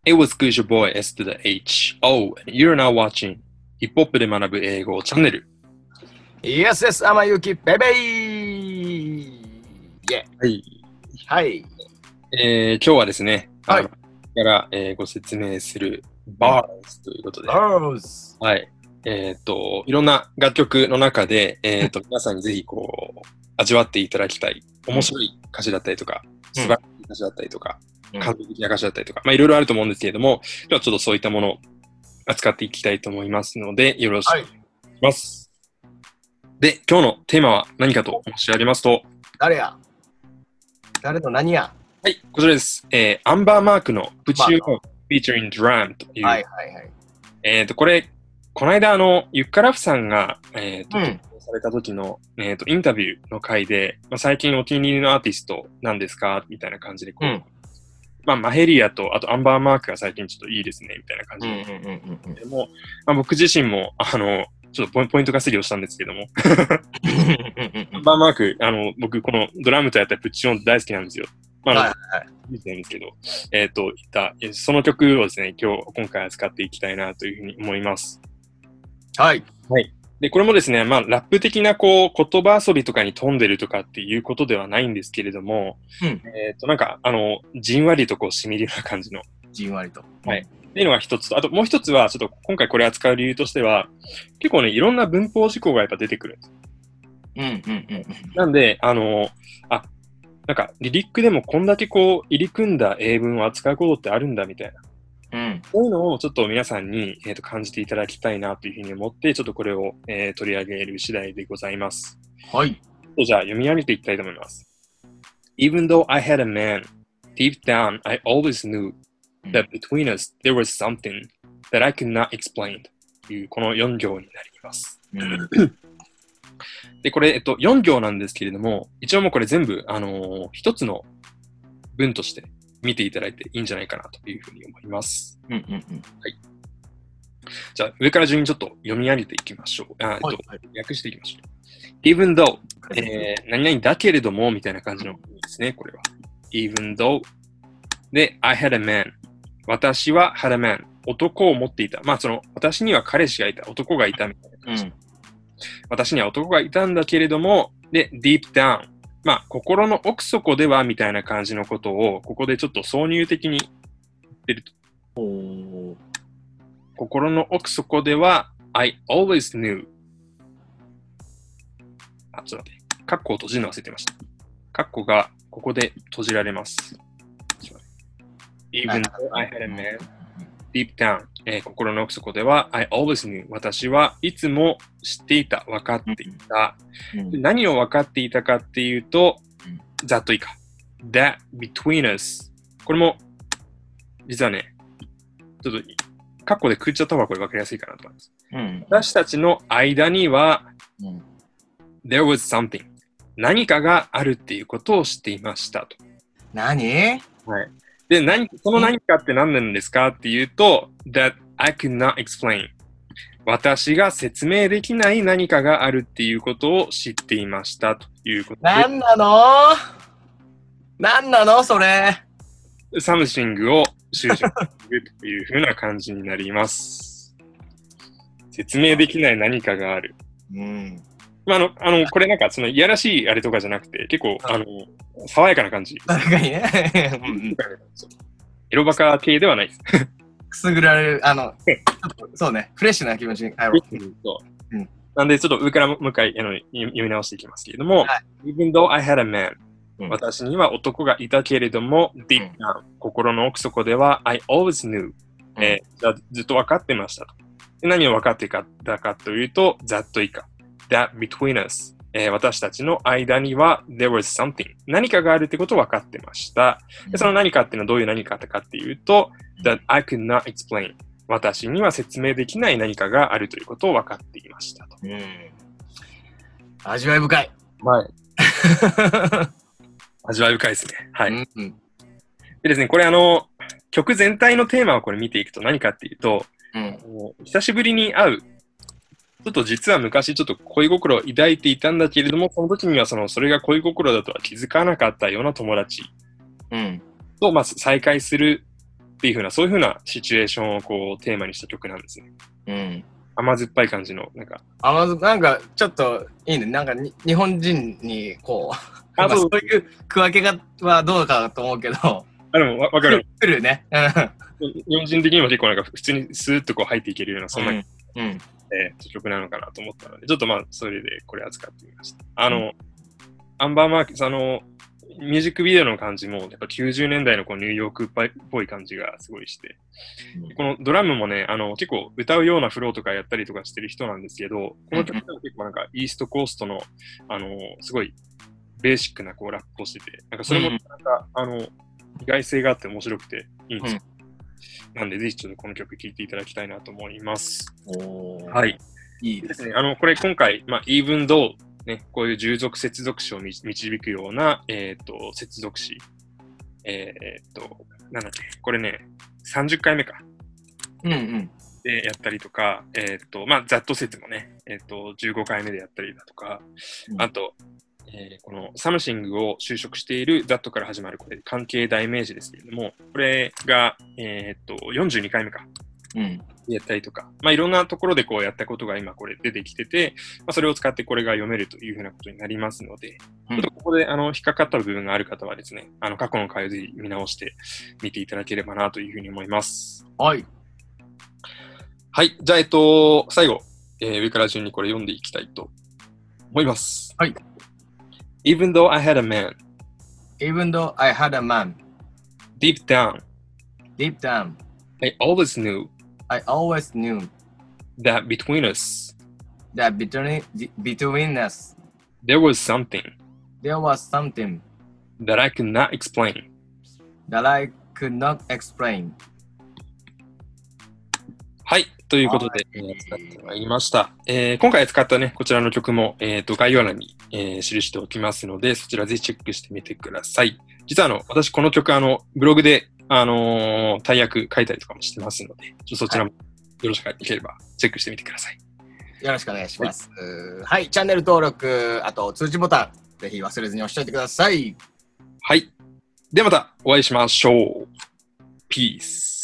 Hey, what's good, your boy S to the H. Oh, and you're now watching ヒップホップで学ぶ英語チャンネル。 Yes, yes, 天ゆきベベーはい。 はい。 今日はですね、 はい。 から、ご説明する Bars ということで、 Bars。 はい。いろんな楽曲の中で、皆さんにぜひこう、味わっていただきたい、面白い歌詞だったりとか、素晴らしい歌詞だったりとか、感動的な歌詞だったりとか、まあいろいろあると思うんですけれども、今日はちょっとそういったものを扱っていきたいと思いますので、よろしくお願いします。で、今日のテーマは何かと申し上げますと、 誰の何やはい、こちらです。アンバーマークの Put You On Featuring Drum という。 はいはいはい。 これ、この間、ユッカラフさんが、投稿された時の、インタビューの回で、まあ、最近お気に入りのアーティストなんですかみたいな感じでこう、まあ、マヘリアと、あとアンバーマークが最近ちょっといいですね、みたいな感じで。でも、まあ、僕自身も、ちょっとポイント稼ぎをしたんですけども。アンバーマーク、僕、このドラムとやったらプッチオン大好きなんですよ。まあ、見てないんですけど、その曲をですね、今回扱っていきたいなというふうに思います。 はい。 はい。で、これもですね、まあ、ラップ的な、こう、言葉遊びとかに富んでるとかっていうことではないんですけれども、なんか、じんわりとこう、染みるような感じの。 じんわりと。 はい。っていうのが一つと、あともう一つは、ちょっと今回これ扱う理由としては、結構ね、いろんな文法事項がやっぱ出てくるんです。なんで、なんか、リリックでもこんだけこう、入り組んだ英文を扱うことってあるんだみたいな。そういうのをちょっと皆さんに、感じていただきたいなというふうに思って、ちょっとこれを、取り上げる次第でございます。 はい。 じゃあ読み上げていきたいと思います。Even though I had a man, deep down I always knew that between us there was something that I could not explain というこの4行になります。で、これ、4行なんですけれども、一応もうこれ全部、一つの文として見ていただいていいんじゃないかなというふうに思います。はい。じゃあ、上から順にちょっと読み上げていきましょう。訳していきましょう。Even though、何々だけれども、みたいな感じの意味ですね、これは。Even though で、I had a man 私は had a man 男を持っていた。まあ、私には彼氏がいた。男がいたみたいな感じ。私には男がいたんだけれども、で、deep down まあ、心の奥底ではみたいな感じのことを、ここでちょっと挿入的に言ってると。心の奥底では、I always knew ちょっと待って。カッコを閉じるの忘れてました。カッコがここで閉じられます。Even though I had a man, deep down、心の奥底では I always knew 私はいつも知っていた、分かっていた。何を分かっていたかっていうと、ざっといいか。That between us これも実はね、ちょっとカッコでくっちゃった方がこれ分かりやすいかなと思います。私たちの間には、There was something 何かがあるっていうことを知っていましたと。 何？ はい。で、その何かって何なんですかっていうと、that I could not explain 私が説明できない何かがあるっていうことを知っていましたということで。 何なのそれ。 サムシングを修正するというふうな感じになります。説明できない何かがある。まあ、これなんか、いやらしいあれとかじゃなくて、結構、爽やかな感じ。 確かにね。 エロバカ系ではないです。 くすぐられる、そうね、フレッシュな気持ちに入ろう。 なんで、ちょっと上からもう一回読み直していきますけれども、Even though I had a man、私には男がいたけれども、deep down、心の奥底では、I always knew、ずっと分かってましたと。で何を分かっていたかというと、ざっと以下。That between us、私たちの間には there was something 何かがあるってことを分かってました。でその何かっていうのはどういう何かかっていうと、that I could not explain 私には説明できない何かがあるということを分かっていましたと。 味わい深い。 はい。味わい深いですね。はい。でですね、これ曲全体のテーマをこれ見ていくと何かっていうと、久しぶりに会うちょっと実は昔ちょっと恋心を抱いていたんだけれども、その時にはそれが恋心だとは気づかなかったような友達と、まあ、再会するっていう風な、そういう風なシチュエーションをこうテーマにした曲なんですね。 うん。 甘酸っぱい感じの、なんか。 なんか、ちょっといいね。なんか日本人に、こう、 そういう区分けがはどうかと思うけど。 でもわかる。 来るね。 日本人的にも結構なんか普通にスーッとこう入っていけるような、そんな、曲なのかなと思ったので、ちょっとまあ、それでこれ扱ってみました。アンバーマーキス、ミュージックビデオの感じも、やっぱ90年代のこうニューヨークっぽい感じがすごいして、このドラムもね、結構歌うようなフローとかやったりとかしてる人なんですけど、この曲は結構なんかイーストコーストの、すごいベーシックなこうラップをしてて、なんかそれもなんか、意外性があって面白くていいんですよ。なんで、ぜひちょっとこの曲聴いていただきたいなと思います。はい。 いいですね。 これ今回、even though、ね、こういう従属接続詞を導くような、接続詞。なんだっけ、これね、30回目か。でやったりとか、ざっと説もね、15回目でやったりだとか、あと、このサムシングを就職している that から始まるこれ関係代名詞ですけれども、これが、42回目か。やったりとか、いろんなところでこうやったことが今これ出てきてて、それを使ってこれが読めるというふうなことになりますので、ちょっとここで引っかかった部分がある方はですね、過去の回をぜひ見直して見ていただければなというふうに思います。 はい。 はい。じゃあ、最後、上から順にこれ読んでいきたいと思います。 はい。 Even though I had a man. Even though I had a man. Deep down. I always knew that between us there was something that I could not explain. はい。ということで、使ってまいりました。今回使ったね、こちらの曲も、概要欄に、記しておきますので、そちらぜひチェックしてみてください。実は私この曲ブログで大役書いたりとかもしてますので、そちらもよろしければチェックしてみてください。 よろしくお願いします。はい、チャンネル登録、あと通知ボタン、ぜひ忘れずに押しておいてください。 はい。ではまたお会いしましょう。ピース。